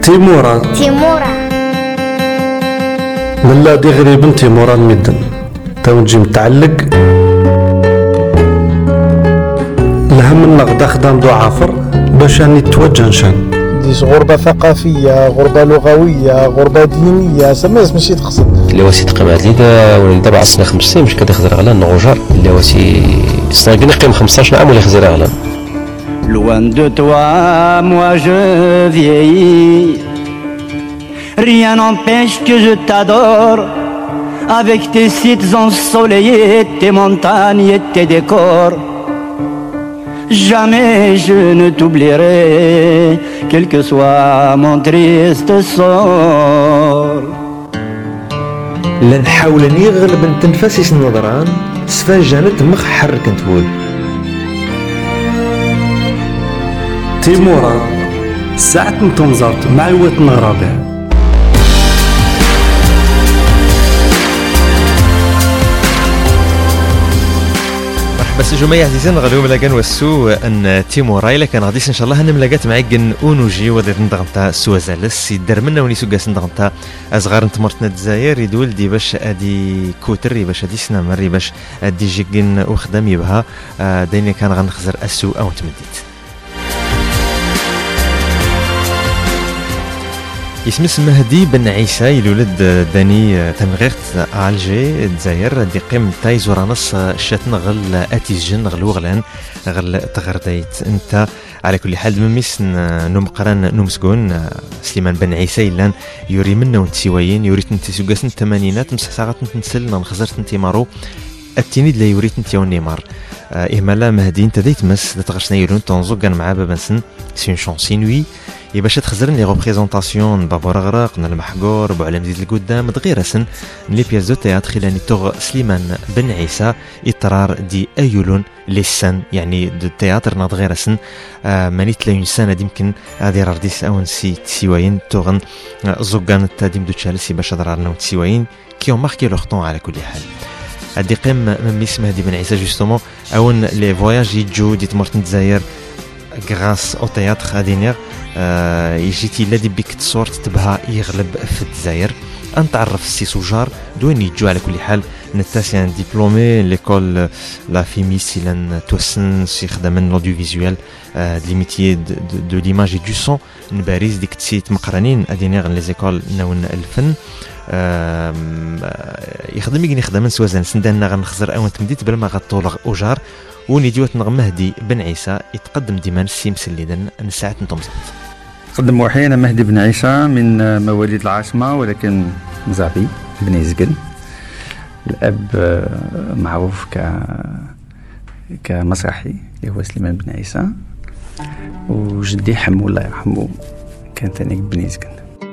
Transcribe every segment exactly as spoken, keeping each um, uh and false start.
تيمورا تيمورا لا دي غريب تيمورا المدن تونجي متعلق الهم النغدا خدام دو عافر باش راني توجه نشان ديش غربة ثقافية، غربة لغوية، غربة دينية، سميس ماشي تقصد اللي واسي تقيمات لي دا دابا عصنا خمس سنين مش كدا خزر غلان نغوجر اللي واسي صاقنا قيم خمسطاش عام ولا خزر غلان. Loin de toi, moi je vieillis. Rien n'empêche que je t'adore. Avec tes sites ensoleillés, tes montagnes et tes décors. Jamais je ne t'oublierai, quel que soit mon triste sort. لن حاولني غلب تنفسي النظران سفان جانت مخ حرك نتقول تيمورا ساعة نتنزرت مع الوات نغرابع بس جماعة عزيزين غلوم لقن والسو ان تيمورا الا كان غاديس ان شاء الله هنملاقات معاكن اونوجي وديت ندغنتا سوازالس يدار منا وني سوكاس ندغنتا ازغار نتمرتنا الجزائر يدول دي باش ادي كوتر باش ادي سنامر باش ادي جيكن وخدام يبها دايني كان غنخزر السو او تمديت اسم مهدي بن عيسى يولد داني تمغيرت الجي الجزائر دي قيم تاي زورانس شاتن غل اتيجن غل وغلان غل تغرديت انت على كل حال مميس نمقران نمسكون سليمان بن عيسى إلان يوري منا ونتسيوين يوري تنتي سوقاس الثمانينات مسح ساعات نتنسل نخزرت نتي مارو التينيد لا يوري تنتي ونيمار إهمالا مهدي انت ديت مس تغشنا يورون تنزوق كان مع بابنسن سي شونسي نوي يا باش تخزرن لي ريبريزونطاسيون بابور غرق المحقور بوعلم زيد القدام دغير سن لي بياس دو تياتر خلاني توغ سليمان بن عيسى اضطرار دي ايولون لي سن يعني دو تياتر نضغير سن آه ماني تلاين سنه يمكن هذه رديس او نسي تسيوين توغن زوغان تاديم دو تشالسي باش درارنا وتسيوين كي اون ماركي لوغ طون على كل حال هادي قيم من اسم هادي بن عيسى جوستومون اون لي فواياج يجو دي تمرتن الجزائر غراس او تياتر غادينير آه يجيتي لا دي بيك تصور تبها يغلب في الجزائر نتعرف السي سوجار دوين يجو على كل حال نتاسي ان ديبلومي ليكول لا فيميس لان توسن سي خدام لوديو فيزوال آه دي ميتيي دو ليماج دو سون نباريز ديك تسيت مقرنين ادينيغ لي زيكول ناون الفن آه يخدم يجي يخدم سوازن سندنا غنخزر او تمديت بلا ما غطولغ اوجار وني ديوات نغم مهدي بن عيسى يتقدم ديما السيم سليدن نساعة نتمزت قدم وحي أنا مهدي بن عيسى من مواليد العاصمة ولكن مزعبي بن زقل الأب معروف ك كمسرحي اللي هو سليمان بن عيسى وجدي حمو الله يرحمه كان ثاني بن زقل.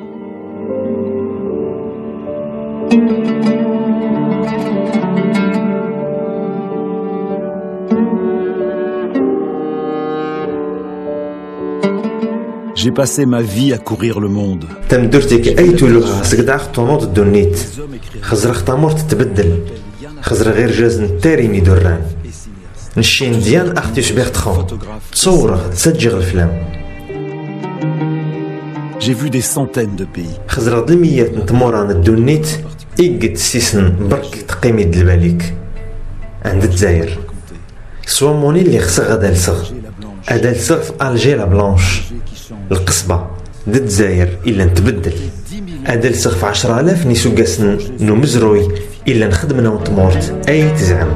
J'ai passé ma vie à courir le monde. تم درتك أي تلوها سقدع خطونات الدنيت خزر اختامور تتبدل خزر غير جاز نتاريني دران نشين ديان أختي شبيخ تخون تصورة تسجغ الفلام. J'ai vu des centaines de pays. خزر ضميات نتموران الدنيت إيقد سيسن برك تقيمي دلباليك عند الجزائر سوا موني اللي خص غدا لصغ هذا لصغ في ألجي لا بلانش القصبة ضد الجزائر إلا نتبدل هذا لصغ في عشرة آلاف نيسوقاس نمزروي إلا نخدمنا ونتمورت أي تزعم.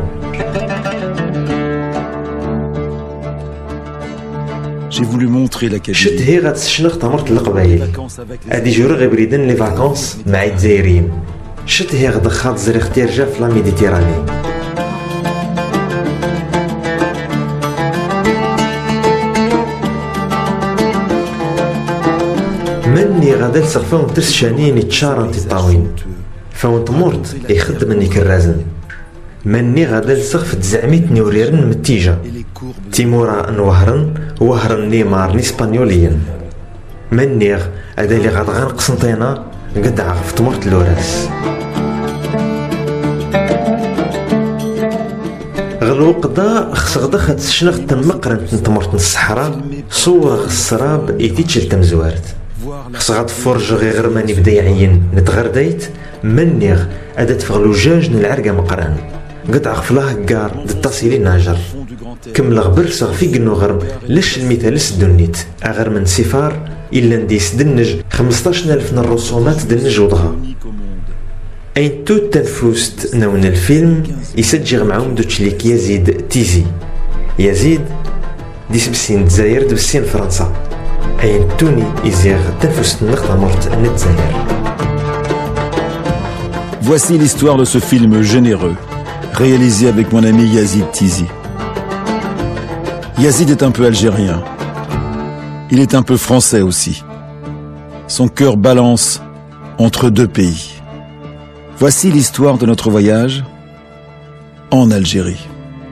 J'ai voulu montrer la qualité. شت هي غتسشنغ تمرت القبايل هادي جورو غي بريدن لي فاكونس مع الجزائريين شت هي غدخات زري اختيار جا في لا ميديتيراني مني غادا لصغ فاون ترس شانين يتشارن تطاوين فاون تمورت يخدمني كالرازن مني غادا لصغ في تزعميت نوريرن متيجة تيمورا نوهرن وهرن نيمار نيسبانيوليا منيغ هذا اللي غادا غنقص نطينا قد عرف تمرت لوراس غلو قدا خصغدا خد شنغ تمقرن تمرت الصحراء صور السراب يتيتشل تمزوارت خص غتفرج غير ماني بدا يعين نتغرديت منيغ ادات فغلو جاج العرقه مقران قطع خفلاه كار دتصيلي ناجر كم غبر صغفي قنو غرم لش المثال سدنيت اغر من سفار الا نديس دنج خمسطاش الف من الرسومات دنج وضها اين توت تنفوست نون الفيلم يسجل معهم دوتشليك يزيد تيزي يزيد ديس بسين دزاير دبسين فرنسا اين توني يزيغ تنفوست النقطة مرت نتزاير. Voici l'histoire de ce film généreux, réalisé avec mon ami Yazid Tizi. Yazid est un peu algérien. Il est un peu français aussi. Son cœur balance entre deux pays. Voici l'histoire de notre voyage en Algérie.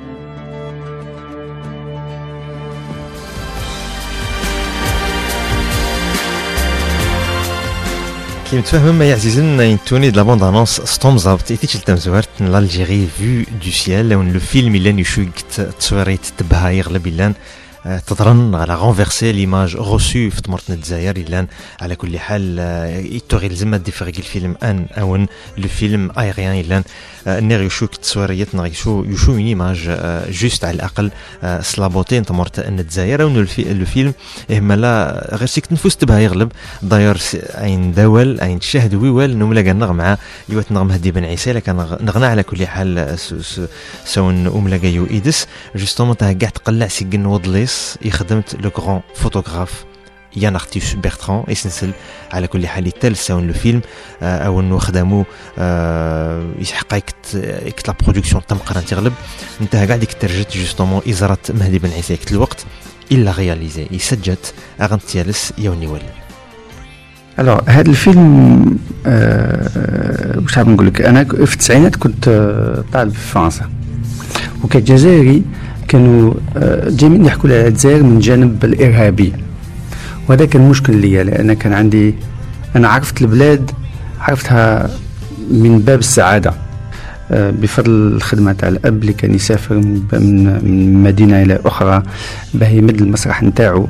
كي متفاهم ما يعزيزن ينتوني د لا بوند انونس ستوم زابط ايتيش التمزورت لالجيري فيو دو سيال لون لو فيلم اللي يشوكت تصويريت تبها يغلب اللان تضرن على غونفيرسي ليماج غوسو في تمرتنا الجزائر اللان على كل حال يتوغي لزما ديفريغي الفيلم ان اون لو فيلم ايريان اللان نير يشوك تصويريات نغيشو يشو اون ايماج جوست على الاقل سلابوتين تمرت ان الجزائر اون لو فيلم اما لا غير سيك نفوس تبها يغلب داير اين دول اين تشاهد ويوال نملا كنغ مع يوات نغ مهدي بن عيسى لكن نغنى على كل حال سون املا كايو ايدس جوستومون تاع كاع تقلع سيكن وضليس يخدمت لو غران فوتوغراف يان ارتيوس بيرتران يسنسل على كل حال تال ساون لو فيلم او انه خدموا يحقق اكت لا برودكسيون تم قران تغلب انتهى قاعد ديك ترجت جوستومون ازارت مهدي بن عيسى كت الوقت الا رياليزي يسجت اغنت تيالس يوني ول. الو هذا الفيلم أه واش حاب نقول لك انا في التسعينات كنت طالب في فرنسا وكجزائري كانوا جايين يحكوا على الجزائر من جانب الارهابي وهذا كان مشكل ليا لان كان عندي انا عرفت البلاد عرفتها من باب السعاده بفضل الخدمه تاع الاب اللي كان يسافر من مدينه الى اخرى باه يمد المسرح نتاعو.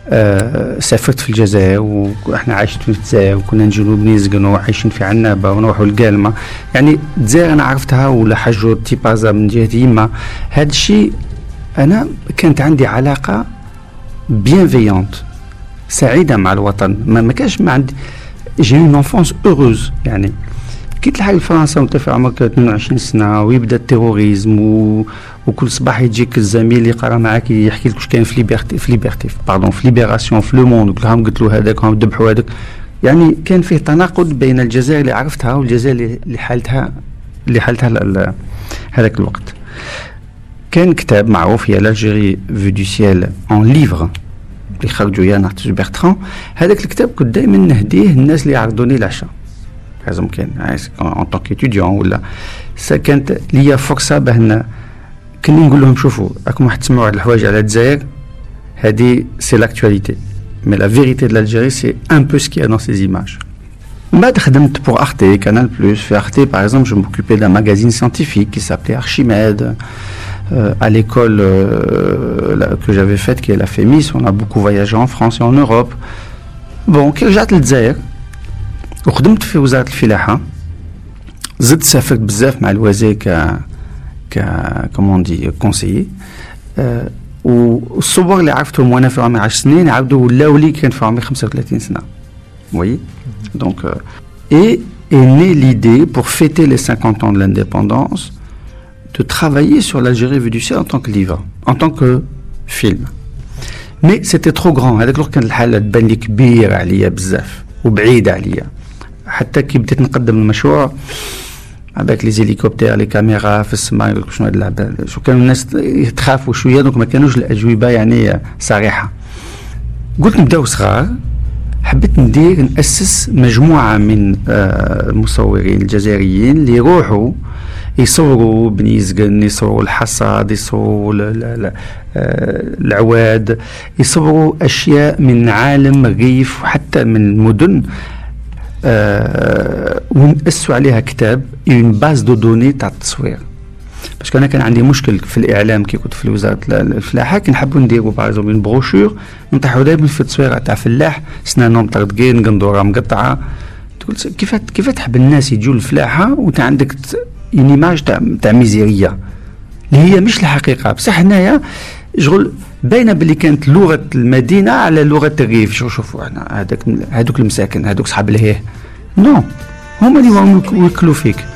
سافرت في الجزائر واحنا عايشين في الجزائر وكنا نجيو بنيزقن وعايشين في عنابه ونروحوا القالمه يعني الجزائر انا عرفتها ولا حجو تيبازا من جهه يما. هذا الشيء انا كانت عندي علاقه بيانفيونت سعيده مع الوطن ما, ما كانش ما عندي جي اون انفونس اوروز يعني كي تلحق لفرنسا وانت في عمرك اثنين وعشرين سنه ويبدا التيروريزم و... وكل صباح يجيك الزميل اللي يقرا معاك يحكي لك واش كاين في ليبرتي في ليبرتي باردون في ليبراسيون في لو موند كلهم قلت له هذاك هم ذبحوا هذاك يعني كان فيه تناقض بين الجزائر اللي عرفتها والجزائر اللي حالتها اللي حالتها هذاك الوقت. كان كتاب معروف هي لالجيري في دو سيال اون ليفر اللي خرجوا يان ارتيوس بيرتران. هذاك الكتاب كنت دائما نهديه الناس اللي يعرضوني العشاء لازم كان ان طونك ايتيديون ولا كانت ليا فرصه باه كني نقول لهم شوفوا راكم راح تسمعوا على الحوايج على الجزائر هذه سي لاكتواليتي مي لا فيريتي دو l'Algérie سي ان بو سكي دون سيز ايماج. بعد خدمت pour Arte, Canal Plus. Für Arte par exemple je m'occupais d'un magazine scientifique qui s'appelait Archimède. Euh, à l'école euh, la, que j'avais faite qui est la FEMIS, on a beaucoup voyagé en France et en Europe. Bon كي رجعت للجزائر وخدمت في وزارة الفلاحة زدت سافرت بزاف مع الوزير ك ك كومون دي كونسيي أه والصور اللي عرفتهم وانا في عمري عشر سنين عاودوا ولاو لي كان في عمري خمسة وثلاثين سنة. Oui. Donc euh, et est née l'idée pour fêter les cinquante ans de l'indépendance de travailler sur l'Algérie vue du ciel en tant que livre, en tant que film. Mais c'était trop grand. هذاك الوقت كان الحالة تبان لي كبيرة عليا بزاف وبعيدة عليا. حتى كي بديت نقدم المشروع avec les hélicoptères les caméras في السماء يقولك شنو هاد اللعبة شو كانوا الناس يتخافوا شوية دونك ما كانوش الأجوبة يعني صريحة. قلت نبداو صغار حبيت ندير نأسس مجموعة من المصورين الجزائريين اللي يروحوا يصوروا بني زقن يصوروا الحصاد يصوروا العواد يصوروا أشياء من عالم الريف وحتى من المدن أه ونأسسوا عليها كتاب une base de données تاع التصوير. باسكو انا كان عندي مشكل في الاعلام كي كنت في وزاره الفلاحه، كي نحبوا نديروا باغ اون بروشور نطيحوا دائما في التصويره تاع فلاح سنانهم مطرطقين قندوره مقطعه. تقول كيف كيف تحب الناس يجوا الفلاحه وانت عندك اون ايماج تاع تاع ميزيريه اللي هي مش الحقيقه. بصح هنايا شغل باينه باللي كانت لغه المدينه على لغه الريف. شوفوا شوفوا احنا هذاك هذوك المساكن هذوك صحاب الهيه نو هما اللي راهم يوكلوا فيك.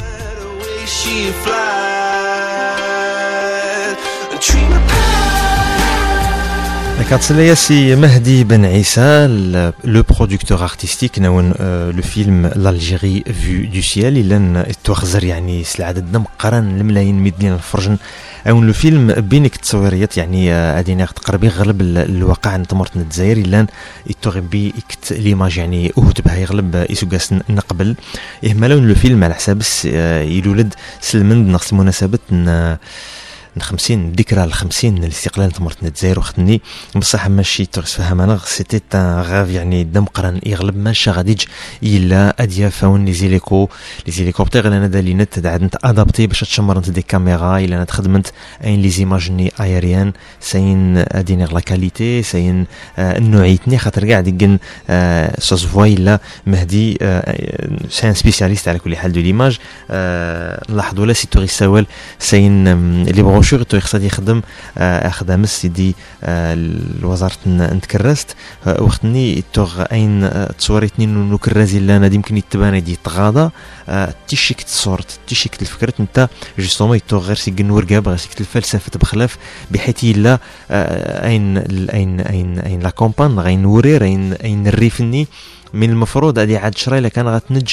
كاتسليا سي مهدي بن عيسى لو برودكتور ارتستيك نون لو فيلم لالجيري فيو دو سيال الا توخزر يعني العدد مقرن الملايين مدين الفرجن او لو فيلم بينك التصويريات يعني ادينا تقربي غلب الواقع نتمرت الجزائر الا يتغبي يكت ليماج يعني اوت بها يغلب يسوقاس نقبل اهملون لو فيلم على حساب يولد سلمند نقص المناسبه خمسين ذكرى الخمسين من الاستقلال تمرت الجزائر وختني بصح ماشي تفهم انا سيتي ان غاف يعني دم قرن يغلب ماشي غاديج الا اديا فاون لي زيليكو لي زيليكوبتر انا دالينت عاد نت ادابتي باش تشمرنت دي كاميرا الا انا خدمت اين لي زيماجني ايريان ساين اديني لا كاليتي ساين النوعيتني خاطر كاع ديكن سوس فوا الا مهدي سان سبيسياليست على كل حال دو ليماج نلاحظوا لا سيتوري سوال ساين لي بروشور تو يخصها يخدم خدام سيدي الوزاره نتكرست وقتني توغ اين تصوريتني نو كرازي لا انا يمكن يتبان دي تغاضى تيشيك الصورت تيشيك الفكره انت جوستومون يتوغ غير سي نورقا غير سي الفلسفه بخلاف بحيث لا اين اين اين اين لا كومبان غين ورير اين اين الريفني من المفروض هذه عاد شراي لكان غتنج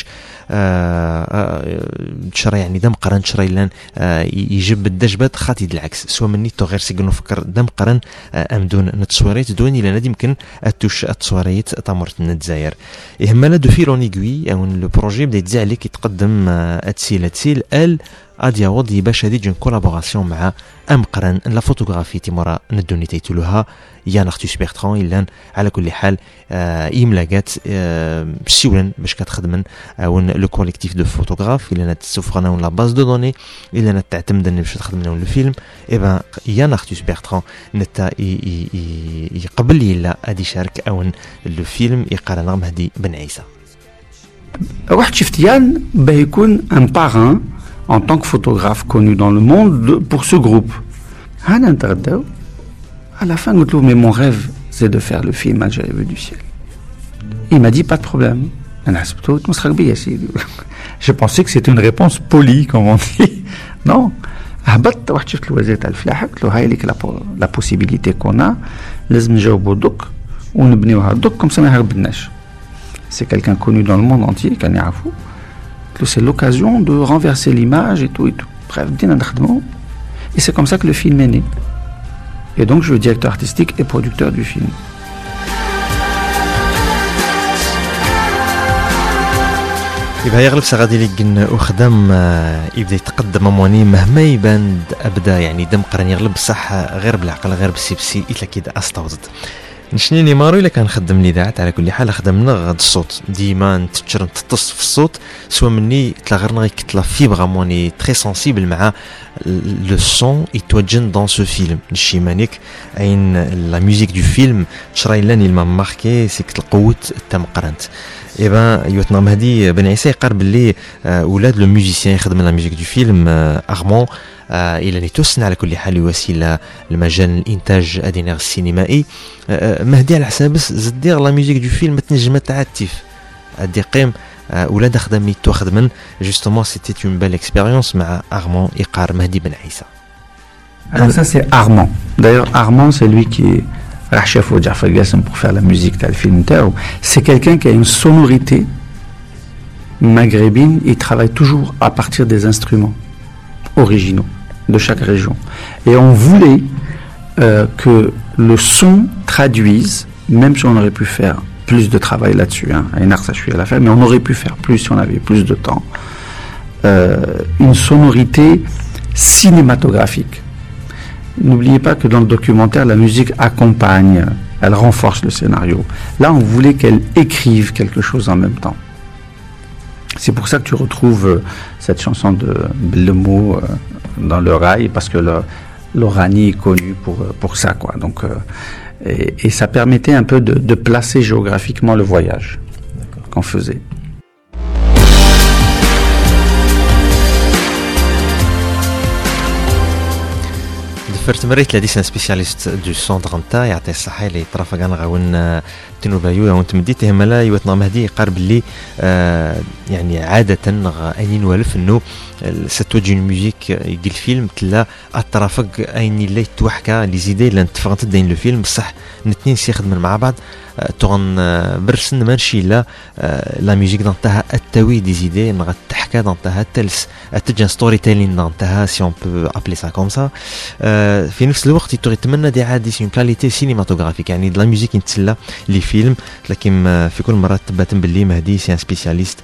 شراي يعني دم قرن شراي لان يجب الدجبات خاطي العكس سوا مني تو غير سيكونو فكر دم قرن ام دون نتصوريت دوني لان يمكن اتوش التصوريت تمرت الجزائر يهمنا دو فيل اون ايغوي او لو بروجي بدا يتزع عليك يتقدم اتسيل اتسيل ال اديا وضي باش هذه جون كولابوراسيون مع ام قرن لا فوتوغرافي تيمورا ندوني تيتلوها يا نختيس بيرتران الا على كل حال يملاقات سيولن باش كتخدمن او لو كوليكتيف دو فوتوغراف الا تسوفرنا لا باز دو دوني الا تعتمد باش تخدم لو فيلم اي بان يا نختيس بيرتران نتا يقبل لي لا ادي شارك او لو فيلم يقارن مهدي بن عيسى واحد شفتيان باه يكون ان باران en tant que photographe connu dans le monde de, pour ce groupe. À la fin, mais mon rêve, c'est de faire le film Algérie vue du ciel. Il m'a dit, pas de problème. Je pensais que c'était une réponse polie, comme on dit. Non. La possibilité qu'on a, comme ça, c'est quelqu'un connu dans le monde entier, c'est l'occasion de renverser l'image et tout et tout. Bref, et c'est comme ça que le film est né. Et donc je suis directeur artistique et producteur du film. يبقى يغلب سغادي لي وخدم يبدا يتقدم امواني مهما يبان ابدا يعني دم قرن يغلب بصح غير بالعقل غير بالسيبسي الا كده استوزد نشنيني مارو الا كنخدم الاذاعه على كل حال خدمنا غاد الصوت ديما نتشر نتص في الصوت سوا مني تلا غير نغي كتلا فيبر موني تري سنسيبل مع لو سون يتوجن دون سو فيلم نشي مانيك اين لا ميوزيك دو فيلم شراي لاني ما ماركي سيك القوه تم قرنت اي بان يوتنا مهدي بن عيسى يقرب لي اولاد لو ميوزيسيان يخدم لا ميوزيك دو فيلم ارمون الى نيتوسن على كل حال وسيله المجال الانتاج ادينير السينمائي مهدي على حساب زدير لا ميوزيك دو فيلم تنجم تعتيف ادي قيم اولاد خدمي تو خدمن جوستومون سيتي اون بيل اكسبيريونس مع ارمون يقار مهدي بن عيسى. Alors ça c'est Armand. D'ailleurs Armand c'est lui qui est chef au Jafar Gassem pour faire la musique de le film Tao. C'est quelqu'un qui a une sonorité maghrébine, il travaille toujours à partir des instruments originaux de chaque région. Et on voulait euh, que le son traduise, même si on aurait pu faire plus de travail là-dessus, hein, à la fin, mais on aurait pu faire plus si on avait plus de temps, euh, une sonorité cinématographique. N'oubliez pas que dans le documentaire, la musique accompagne, elle renforce le scénario. Là, on voulait qu'elle écrive quelque chose en même temps. C'est pour ça que tu retrouves euh, cette chanson de Bellemo euh, dans le rail, parce que le, l'Oranie est connue pour, pour ça, quoi. Donc, euh, et, et ça permettait un peu de, de placer géographiquement le voyage D'accord. qu'on faisait. فرت مريت لديس سبيسياليست دو سونتر نتا يعطي الصحه اللي طرافا كان غاون تنوبايو هون تمديته ملا يوتنا مهدي قارب لي آه يعني عاده اني نوالف انه ستوجي الموسيك يقول الفيلم تلا الطرافق ايني اللي توحكا لي زيدي اللي نتفقت دين لو فيلم بصح الاثنين سيخدموا مع بعض تغن برسن ماشي لا لا ميوزيك دانتها التوي دي زيدي نغا تحكا دانتها تلس تجن ستوري تيلين دانتها سي اون بو ابلي سا كوم سا في نفس الوقت يتمنى دي عادي سي اون كاليتي سينماتوغرافيك يعني لا ميوزيك يتسلى لي فيلم لكن في كل مره تباتن باللي مهدي سي ان سبيسياليست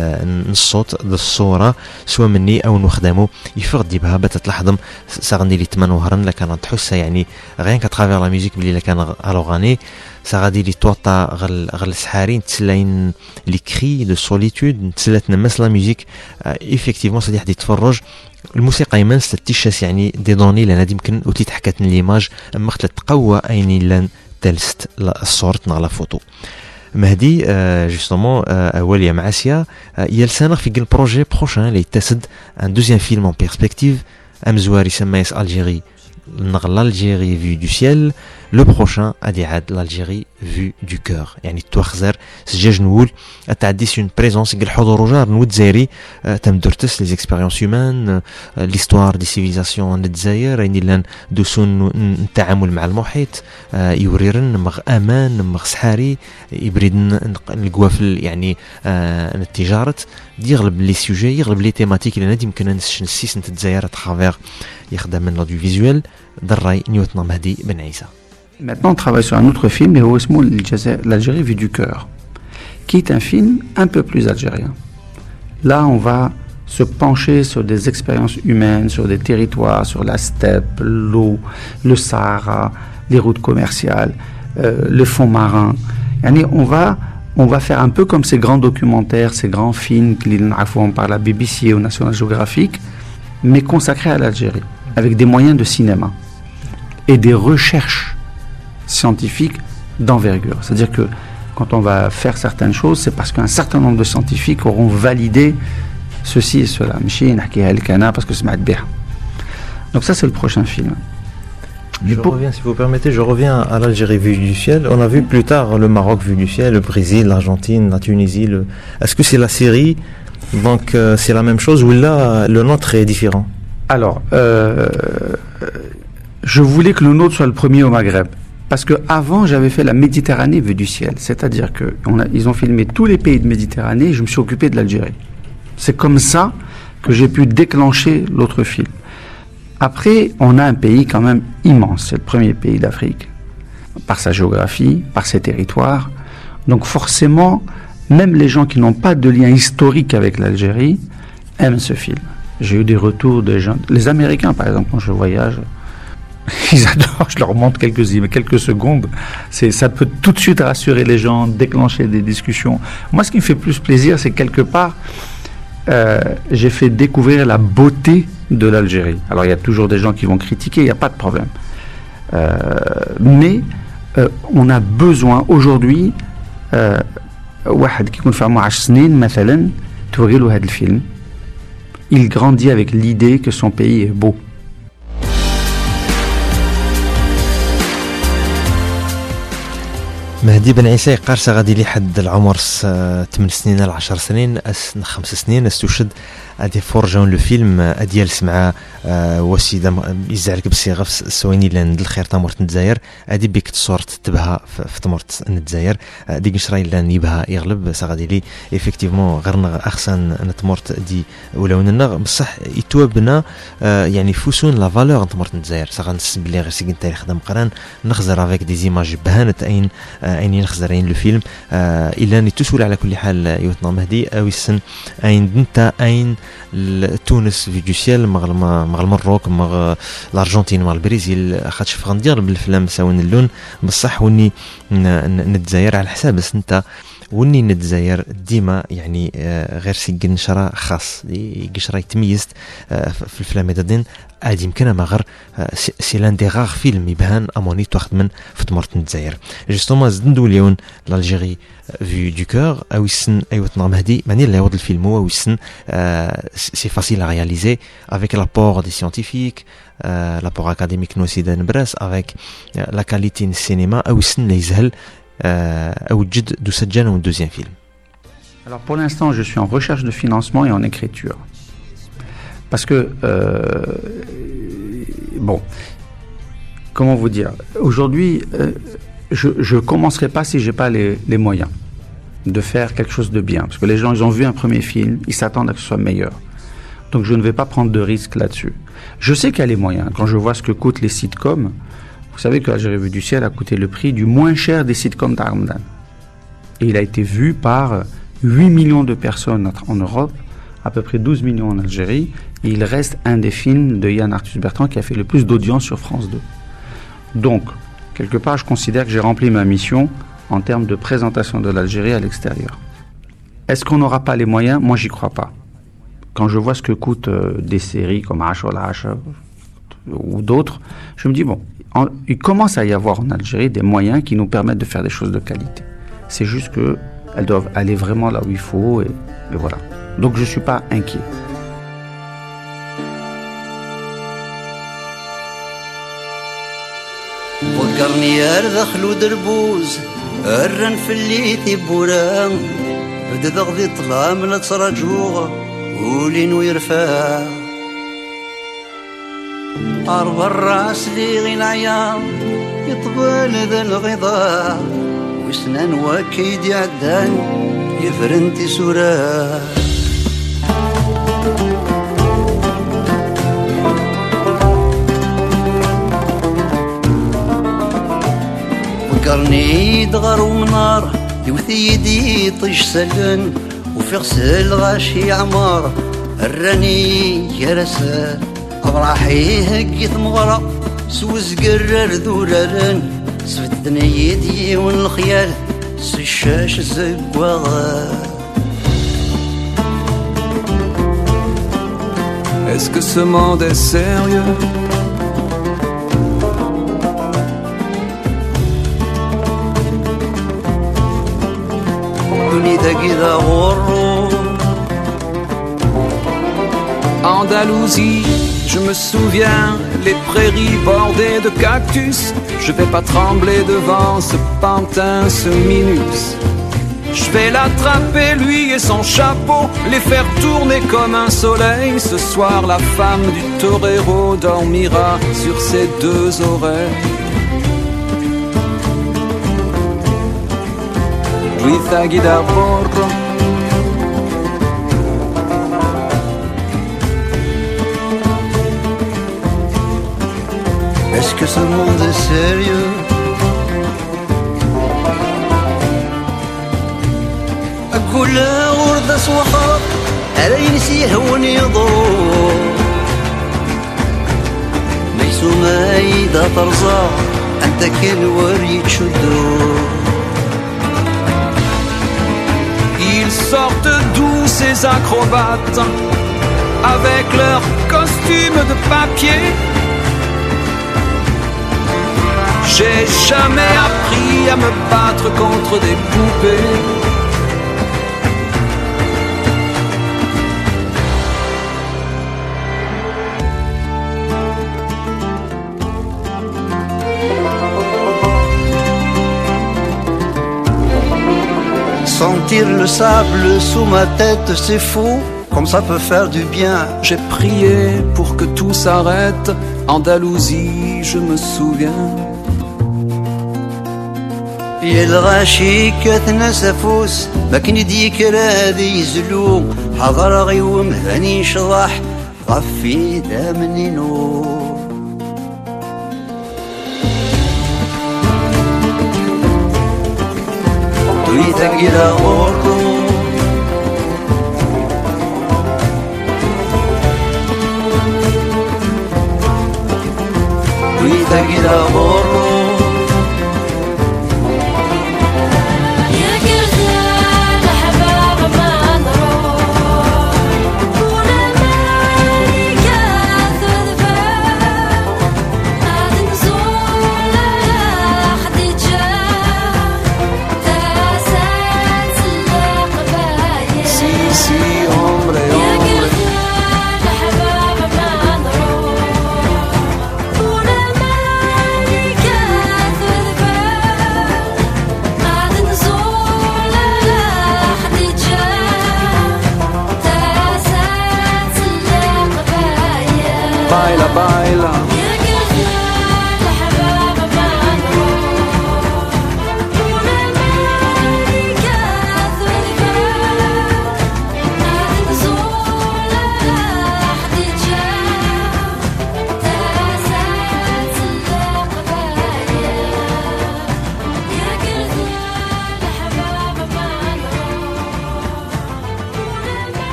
الصوت الصوره سواء مني او نخدمو يفقد بها بتتلاحظم ساغني لي تمن وهرن لكان تحس يعني غير كترافير لا ميوزيك بلي كان الوغاني ça غادي لي توطا غل غل السحارين تسلاين لي كري دو سوليتود تسلات نمس لا ميوزيك ايفيكتيفمون صديح دي تفرج الموسيقى يمن ستيشاس يعني دي دوني لان هادي يمكن اوتي تحكات ليماج اما خلت تقوى ايني لان تلست الصورت نا لا فوتو مهدي جوستومون اوليا معاسيا يلسانغ في كل بروجي بروشان اللي يتسد ان دوزيام فيلم اون بيرسبكتيف امزوار يسمى الجيري نغ l'Algérie vue du ciel le prochain ادي عاد l'Algérie vue du cœur يعني توخزر سجاج نقول تعديس une présence قال حضور وجار نود زيري تمدرتس les expériences humaines l'histoire des civilisations الجزائر يعني لان دوسون التعامل مع المحيط يوريرن مغ امان مغ سحاري يبرد القوافل يعني التجاره يغلب لي سوجي يغلب لي تيماتيك اللي يمكن نسيس نت الجزائر ترافير يخدم من لوديو فيزوال دراي نيوتنا مهدي بن عيسى. Maintenant, on travaille sur un autre film, l'Algérie vue du cœur, qui est un film un peu plus algérien. Là, on va se pencher sur des expériences humaines, sur des territoires, sur la steppe, l'eau, le Sahara, les routes commerciales, euh, le fond marin. Yani, on va, on va faire un peu comme ces grands documentaires, ces grands films qui sont par la B B C ou National Geographic, mais consacrés à l'Algérie, avec des moyens de cinéma et des recherches scientifiques d'envergure. C'est-à-dire que quand on va faire certaines choses, c'est parce qu'un certain nombre de scientifiques auront validé ceci et cela. Parce que c'est bien. Donc ça, c'est le prochain film. Je pour... reviens, si vous permettez, je reviens à l'Algérie vue du ciel. On a vu plus tard le Maroc vue du ciel, le Brésil, l'Argentine, la Tunisie. Le... Est-ce que c'est la Syrie? Donc euh, c'est la même chose ou là le nôtre est différent? Alors, euh, je voulais que le nôtre soit le premier au Maghreb. Parce qu'avant, j'avais fait la Méditerranée vue du ciel. C'est-à-dire qu'ils ont filmé tous les pays de Méditerranée et je me suis occupé de l'Algérie. C'est comme ça que j'ai pu déclencher l'autre film. Après, on a un pays quand même immense. C'est le premier pays d'Afrique. Par sa géographie, par ses territoires. Donc forcément, même les gens qui n'ont pas de lien historique avec l'Algérie aiment ce film. J'ai eu des retours de gens... Les Américains, par exemple, quand je voyage... Ils adorent, je leur montre quelques, quelques secondes. C'est, ça peut tout de suite rassurer les gens, déclencher des discussions. Moi, ce qui me fait plus plaisir, c'est que quelque part, euh, j'ai fait découvrir la beauté de l'Algérie. Alors, il y a toujours des gens qui vont critiquer, il n'y a pas de problème. Euh, mais euh, on a besoin, aujourd'hui, واحد كيكون في عمره عشر سنين مثلا توري له هذا الفيلم, il grandit avec l'idée que son pays est beau. مهدي بن عيسى قارصة غادي لي حد العمر ثمان سنين ل عشر سنين خمس سنين استشهد ادي فورجون لو فيلم اديال سمع وسيده يزعلك بالصيغه سويني لان الخير تمرت الجزائر ادي بيك تصورت تبها في تمرت الجزائر ديك نشراي لان يبها يغلب غادي لي ايفيكتيفمون غير احسن نتمرت دي ولاو لنا بصح يتوبنا يعني فوسون لا فالور نتمرت الجزائر غنسب بلي غير سيكن تاريخ خدام قران نخزر افيك دي زيماج بهانت اين اين نخزرين لو فيلم الا ني تسول على كل حال يوتنا مهدي او السن اين انت اين تونس في دوسيال مغ مغ المروك مغ الارجنتين مغ البرازيل خاطش فغندير بالفلام ساون اللون بصح وني نتزاير على حساب بس انت ونين الجزائر ديما يعني غير سي قنشرة خاص قشرة يتميزت في الفيلم دين عاد يمكن ما غير سي لان دي غار فيلم يبان اموني تاخذ من في تمرت الجزائر جوستومون زندو اليوم لالجيري في دو كور او يسن ايوا تنظم مهدي ماني اللي يوض الفيلم هو ويسن سي فاسيل ا رياليزي افيك لابور دي سيانتيفيك لابور اكاديميك نوسي نبراس افيك لا كاليتي السينما او يسن اللي يزهل او جد دو سجان و دوزيام فيلم. Alors pour l'instant, je suis en recherche de financement et en écriture. Parce que, euh, bon, comment vous dire, aujourd'hui, euh, je ne commencerai pas si je n'ai pas les, les moyens de faire quelque chose de bien. Parce que les gens, ils ont vu un premier film, ils s'attendent à ce que ce soit meilleur. Donc je ne vais pas prendre de risques là-dessus. Je sais qu'il y a les moyens. Quand je vois ce que coûtent les sitcoms, vous savez que Algérie vue du ciel a coûté le prix du moins cher des sitcoms d'Armdan. Et il a été vu par huit millions de personnes en Europe, à peu près douze millions en Algérie, et il reste un des films de Yann Arthus Bertrand qui a fait le plus d'audience sur France deux. Donc, quelque part, je considère que j'ai rempli ma mission en termes de présentation de l'Algérie à l'extérieur. Est-ce qu'on n'aura pas les moyens? Moi, j'y crois pas. Quand je vois ce que coûtent euh, des séries comme Ashol H ou d'autres, je me dis, bon, en, il commence à y avoir en Algérie des moyens qui nous permettent de faire des choses de qualité. C'est juste qu'elles doivent aller vraiment là où il faut, et, et voilà. Donc je ne suis pas inquiet. فكرني أرذخ له دربوز الرن في اللي تبورا بدا ذغذي طلع من ترجوغ ولين ويرفع عرب الراس لي غي العيام يطبل ذا الغضاء وسنان وكيد يعدان يفرنتي سورا فكرني دغر ومنار يوثي يدي طيش سلن وفي غسل غاشي عمار الراني جرسان أبراحي هكي ثمغرة سوز قرر ذوررن سفتني يدي والخيال سشاش زقوغا. Est-ce que ce monde est sérieux? Andalousie, je me souviens, les prairies bordées de cactus. Je vais pas trembler devant ce pantin, ce minus. Je vais l'attraper, lui et son chapeau, les faire tourner comme un soleil. Ce soir, la femme du torero dormira sur ses deux oreilles. Luisa Guidaporro. Est-ce que ce monde est sérieux? كل وردة صوحة على ينسيه ونيضو ميسو مايدة ترزا أنت كل وري تشدو. Ils sortent d'où ces acrobates avec leurs costumes de papier? J'ai jamais appris à me battre contre des poupées. Sentir le sable sous ma tête, c'est fou, comme ça peut faire du bien. J'ai prié pour que tout s'arrête. Andalousie, je me souviens. يا الغاشي كتنسفوس ما كن يديك راذي يزلو حضر غيوم هاني شضاح غفي دامني نور. دويتك إلى غوركو دويتك إلى غوركو يا كرزان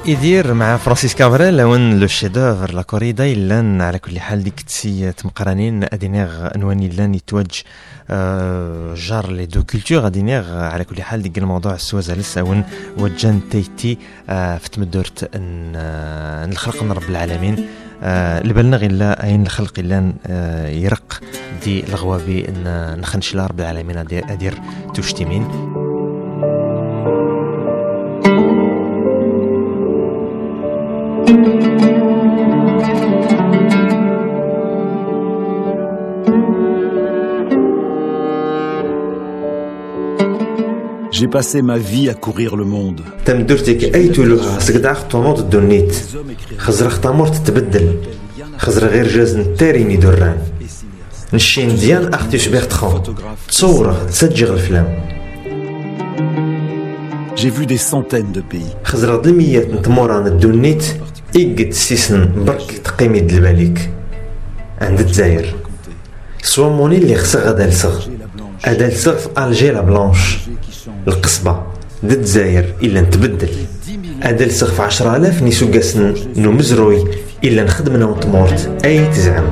يدير مع فرانسيس كابريل لون لو شيدوفر لا كوريدا إلان على كل حال ديك تسي تمقرانين أدينيغ أنواني لان يتوج أه جار لي دو كولتور أدينيغ على كل حال ديك الموضوع السوازة لسه ون وجان تيتي أه في تمدورت أن أه الخلق من رب العالمين أه لبلنا غير أين الخلق إلا أه يرق دي الغوابي أن نخنش لا رب العالمين أدير, أدير تشتمين. J'ai passé ma vie à courir le monde. تمدرتك أي تلوها سقد عقد ونوض الدنيت خزر اختامور تتبدل خزر غير جاز نتاريني دران نشين ديان أختي شبيخ تخون تصوره تسجغ الفلام. J'ai vu des centaines de pays. خزر ظلميات نتموران الدنيت إيقد سيسن برك تقيمي دلباليك عند الجزائر سوا موني اللي خصها غدا لسغ أدا لسغ في ألجي لا بلانش القصبة د الجزائر إلا نتبدل أدا لسغ في عشرة آلاف نيسو قاسن نو مزروي إلا نخدمنا ونتمورت أي تزعم.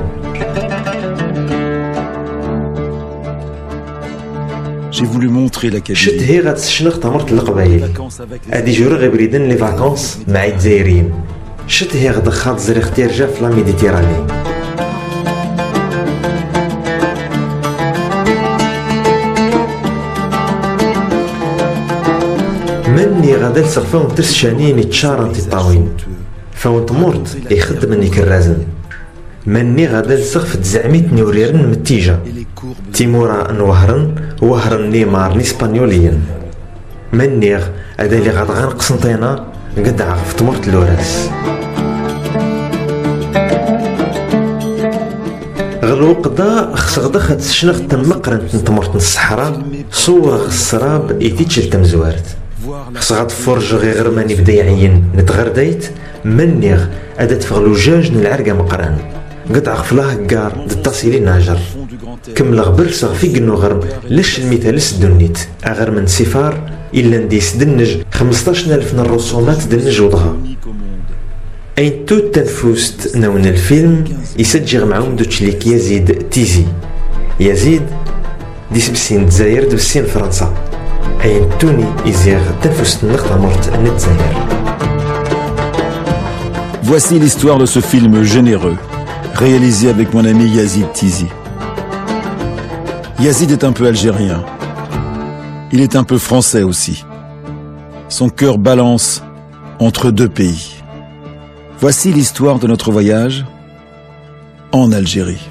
J'ai voulu montrer la qualité. شت هي غتسشنخ تمرت القبايل أدي جورو غي بريدن لي فاكونس مع الجزائريين شت هي غدا خاط زري اختيار جا في لا ميديتيراني. مني غدا لسغ فاون ترس شانين يتشارن تطاوين فاون تمورت يخدمني كالرازن مني غدا لسغ في تزعميت نوريرن متيجة تيمورا نوهرن وهرن نيمار نيسبانيوليا مني هذا اللي غاد غنقسنطينا قد عرف تمرت لوراس غلو قدا خص غدا خد شنخ تمقرن تمرت الصحراء صورة السراب يتيتشل تمزوارت خص غاد فرج غير غرماني بدا يعين نتغرديت مني هذا تفغلو جاج العرقة مقران قد عرف لاه كار دتصيلي ناجر كم لغبر صغ في قنو غرب لش المثال الدنيت أغر من سفار إلا نديس دنج خمسطاش ألف الرسومات دنج وضغا أين تو تنفوست نون الفيلم يسجغ معهم دوتشليك يزيد تيزي يزيد ديس بسين دزاير دبسين فرنسا أين توني يزيغ تنفوست نقطة مرت نتزاير. Voici l'histoire de ce film généreux réalisé avec mon ami Yazid Tizi. Yazid est un peu algérien. Il est un peu français aussi. Son cœur balance entre deux pays. Voici l'histoire de notre voyage en Algérie.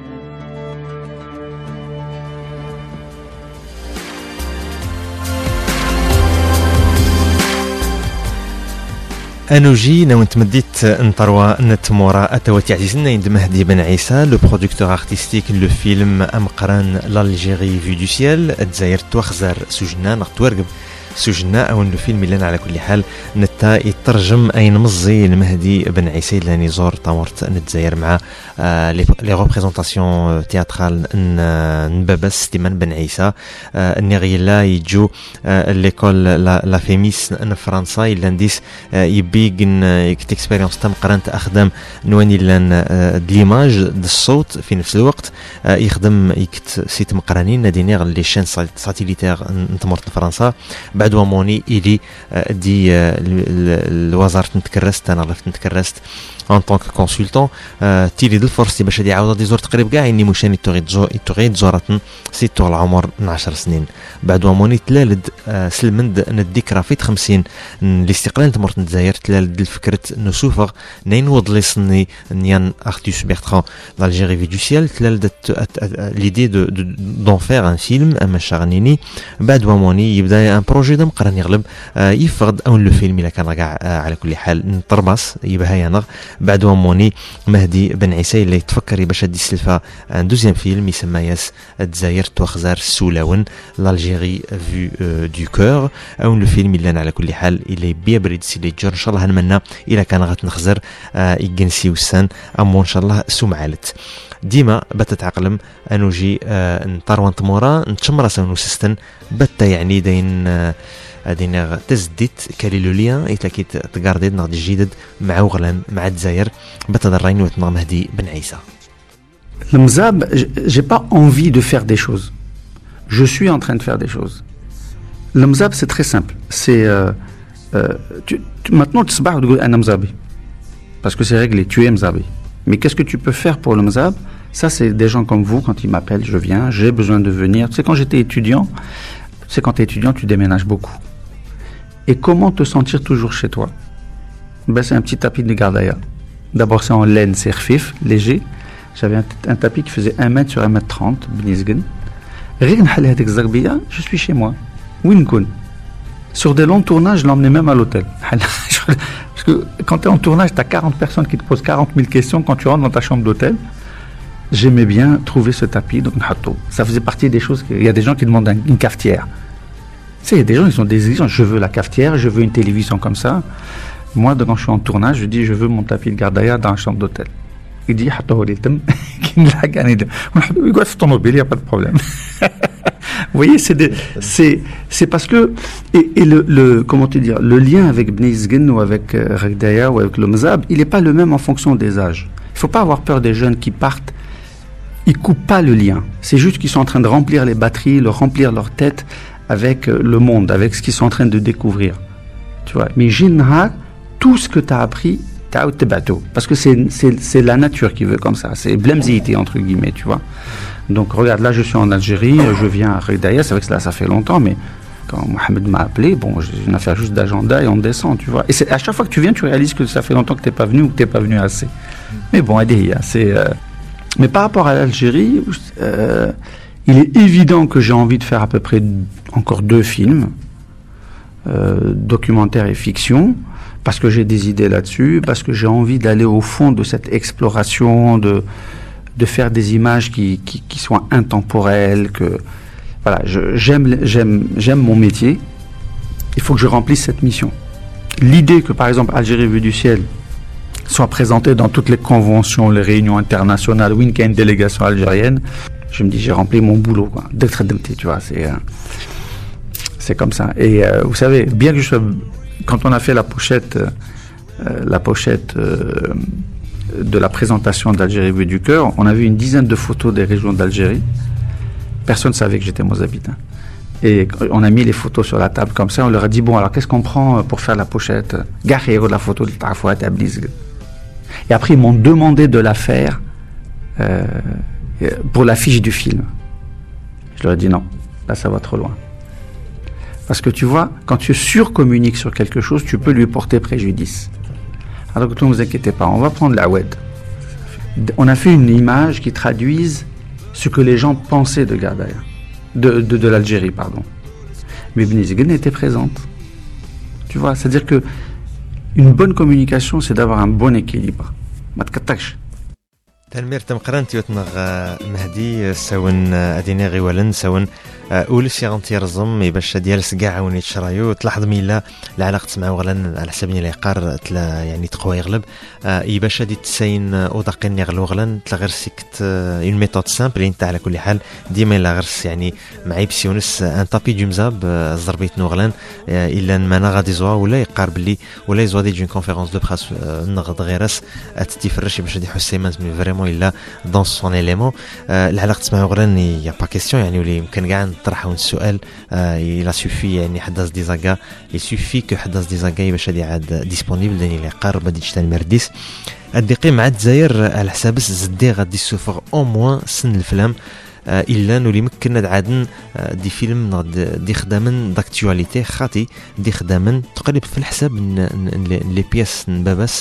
انوجي نو نتمديت نطروا نتمورا اتواتي عزيزنا عند مهدي بن عيسى لو برودكتور ارتستيك لو فيلم امقران لالجيري في دو سيال الجزائر توخزر سجنا نغتورقب سجنا او لو فيلم اللي على كل حال نتا يترجم اين مزي المهدي بن عيسى لاني زور طامورت الجزائر مع آه لي ريبريزونطاسيون تياترال نبابس تيمان بن عيسى آه نغيلا يجو آه ليكول لا فيميس ان فرنسا الا نديس آه يبيغن يكت اكسبيريونس تم قرنت اخدم نواني لان آه ديماج د الصوت في نفس الوقت آه يخدم يكت سيت مقرانين نادينيغ لي شين ساتيليتير نتمورت فرنسا بعد وموني إلي دي الوزارة نتكرست أنا عرفت نتكرست en tant que consultant تيلي دل فرصتي باش هادي عاوضة دي زور تقريب كاع إني مشاني تغيد زورة سيتو العمر عشر سنين بعد وموني تلالد سلمند نديك رافيت خمسين الاستقلال تمرت نتزاير تلالد الفكرة نسوفغ نين وضلي صني نيان أختيوس بيرتران d'Algérie vue du ciel تلالد l'idée de d'en faire un film أما شغنيني بعد وموني يبدأ un projet دم قرن يغلب يفقد أو لو فيلم إلا كان رجع على كل حال نطربص يبها ينغ بعد موني مهدي بن عيسى اللي تفكر باش هادي السلفه ان دوزيام فيلم يسمى ياس الجزائر توخزار السولاون لالجيري فيو دو كور او الفيلم اللي انا على كل حال اللي بيبرد سيلي جور ان شاء الله هنمنا الى كان غتنخزر يجنسي وسان امو ان شاء الله سمعالت ديما بتتعقلم انو جي نطروان تمورا نتشمر سونو سيستن بتا يعني دين دين تزديت كاليلوليا ايتلاكيت تقاردي نغد جديد مع وغلان مع الجزائر بتدرين وتنا مهدي بن عيسى. المزاب j'ai pas envie de faire des choses. Je suis en train de faire des choses. Le mzab c'est très simple. C'est euh, euh, tu, tu, maintenant tu sabah تقول انا مزابي. Parce que c'est réglé, tu es mzabi. Mais qu'est-ce que tu peux faire pour le mzab? Ça c'est des gens comme vous quand ils m'appellent, je viens, j'ai besoin de venir. Tu sais quand j'étais étudiant, tu sais quand tu es étudiant, tu déménages beaucoup. Et comment te sentir toujours chez toi? Ben c'est un petit tapis de gardaya. D'abord c'est en laine, c'est rfif, léger. J'avais un, un tapis qui faisait un mètre sur un mètre trente, bnizgen. Je suis chez moi. Winkun. Sur des longs tournages, je l'emmenais même à l'hôtel. Parce que quand tu es en tournage, tu as quarante personnes qui te posent quarante mille questions quand tu rentres dans ta chambre d'hôtel. J'aimais bien trouver ce tapis, donc ça faisait partie des choses. Il y a des gens qui demandent une cafetière. Tu sais, il y a des gens qui ont des exigences. Je veux la cafetière, je veux une télévision comme ça. Moi, quand je suis en tournage, je dis je veux mon tapis de gardaya dans la chambre d'hôtel. Il dit il n'y a pas de problème. Vous voyez, c'est, des, c'est, c'est parce que et, et le, le comment te dire le lien avec Bnizgen ou avec euh, Ragdaya ou avec le Mzab, il n'est pas le même en fonction des âges. Il ne faut pas avoir peur des jeunes qui partent. Ils coupent pas le lien. C'est juste qu'ils sont en train de remplir les batteries, de remplir leur tête avec euh, le monde, avec ce qu'ils sont en train de découvrir. Tu vois. Mais Jinha, tout ce que tu as appris, t'as tes bateaux. Parce que c'est, c'est, c'est la nature qui veut comme ça. C'est blemzité entre guillemets, tu vois. Donc regarde, là je suis en Algérie, je viens à Ragdaya, c'est vrai que là ça fait longtemps, mais quand Mohamed m'a appelé, bon, j'ai une affaire juste d'agenda et on descend, tu vois. Et c'est, à chaque fois que tu viens, tu réalises que ça fait longtemps que tu n'es pas venu ou que tu n'es pas venu assez. Mais bon, Adéhia, c'est... Euh... Mais par rapport à l'Algérie, euh, il est évident que j'ai envie de faire à peu près encore deux films, euh, documentaire et fiction, parce que j'ai des idées là-dessus, parce que j'ai envie d'aller au fond de cette exploration, de... de faire des images qui, qui, qui soient intemporelles, que voilà, je, j'aime, j'aime, j'aime mon métier. Il faut que je remplisse cette mission. L'idée que par exemple Algérie vue du ciel soit présentée dans toutes les conventions, les réunions internationales, où il y a une délégation algérienne, je me dis j'ai rempli mon boulot, quoi. Tu vois, c'est euh, c'est comme ça. Et euh, vous savez, bien que je sois, quand on a fait la pochette, euh, la pochette. Euh, de la présentation d'Algérie vue du cœur, on a vu une dizaine de photos des régions d'Algérie. Personne ne savait que j'étais mozabite. Et on a mis les photos sur la table comme ça, on leur a dit bon alors qu'est-ce qu'on prend pour faire la pochette? Garé de la photo de Tarfouat Tabliz. Et après ils m'ont demandé de la faire euh, pour l'affiche du film. Je leur ai dit non, là ça va trop loin. Parce que tu vois, quand tu surcommuniques sur quelque chose, tu peux lui porter préjudice. Alors que ne vous inquiétez pas, on va prendre la web. On a fait une image qui traduise ce que les gens pensaient de Gardaya, de, de, de l'Algérie, pardon. Mais Bnizgen était présente. Tu vois, c'est-à-dire que une bonne communication, c'est d'avoir un bon équilibre. Ma tkataksh. تنمير تمقران تيوتنغ مهدي ساون اديني غيولن ساون اولس يغنتي رزم باش ديال سكاع وني تشرايو تلاحظ ميلا العلاقه مع وغلن على حساب لي قار تلا يعني تقوى يغلب اي باش دي تساين ودقين يغلو غلن تلا غير سيكت اون ميثود سامبل انت على كل حال ديما لا غرس يعني معي بسيونس ان طابي دو مزاب زربيت نوغلن الا ما غادي زوا ولا يقار بلي ولا يزوا دي جون كونفيرونس دو بريس نغد غيرس اتتفرش باش دي حسيمه فريمون الا دون سون اليمون العلاقه مع وغلن يا با كيسيون يعني ولي يمكن كاع نطرحوا السؤال الى سوفي يعني حداث ديزاغا يسوفي كو حداث ديزاغا باش هادي عاد ديسپونيبل داني لي قار بدي تشتان مرديس ادقي مع الجزائر على حساب زدي غادي سوفر او موان سن الفلام الا نولي مكن عادن دي فيلم دي خدامن داكتواليتي خاطي دي خدامن تقريبا في الحساب لي بياس باباس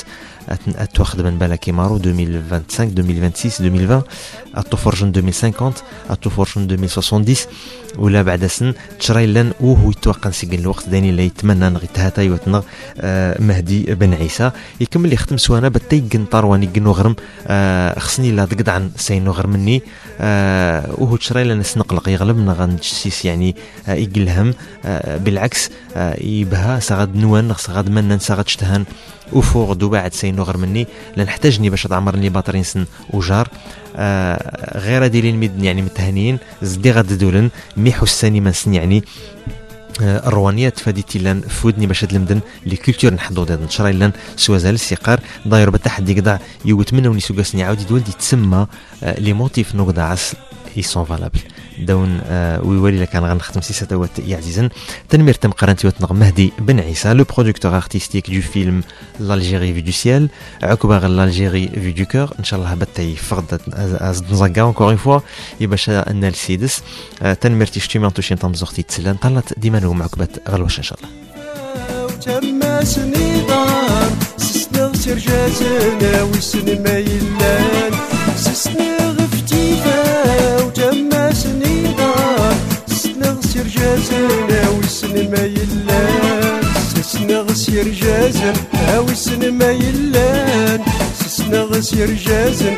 اتواخد من بالك كيمارو ألفين وخمسة وعشرين ألفين وستة وعشرين ألفين وعشرين اتوفرجن ألفين وخمسين اتوفرجن ألفين وسبعين ولا بعد سن تشريلن وهو يتوقع نسجل الوقت داني اللي يتمنى نغيتها يوتنا آه مهدي بن عيسى يكمل يختم سوانا بتيجن طرواني جنو غرم آه خصني لا تقد عن سينو غير مني آه وهو تشريلن نسنقلق يغلب نغنجسيس يعني آه يقلهم آه بالعكس آه يبها سغاد نوان سغاد منن سغاد شتهان وفوق دو بعد سينو غير مني لان احتاجني باش تعمرني باطرين سن وجار آه غير ديالين ميد يعني متهنين زدي غاد دولن مي حساني من سن يعني آه الروانيات فاديتي لان فودني باش المدن لي كولتور نحضو داد نشراي لان سوازال السيقار داير بتحدي قدع يوتمنوني سوغاسني عاود يدولدي تسمى آه لي موتيف نوغدا عس ils sont valables دون آه ويولي لك انا غنختم سيسه دوات يا عزيزا تنمير تم قرنتي وتنغ مهدي بن عيسى لو برودكتور ارتستيك دو فيلم l'Algérie vue du ciel عقبه l'Algérie vue du cœur ان شاء الله بتاي فقد از نزقا انكور اون فوا يباشا ان السيدس آه تنمير تشتي انتوشين تنزختي تسلان طلت ديما نوم عقبه غلوش ان شاء الله تما سنيدار سسنا سرجازنا وسنما يلان سسنا غفتيفا وتما سنيدار سسنا سرجازنا وسنما يلان سسنا غسير جازن وسنما يلان سسنا غسير جازن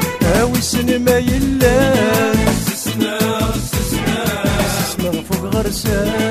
وسنما يلان سسنا سسنا سسنا فوق غرسان